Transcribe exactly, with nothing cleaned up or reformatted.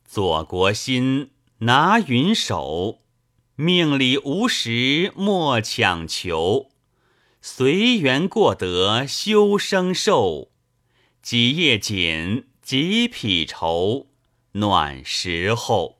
左国心，拿云手，命里无时莫强求。随缘过得修生寿，几夜锦，几匹绸，暖时候。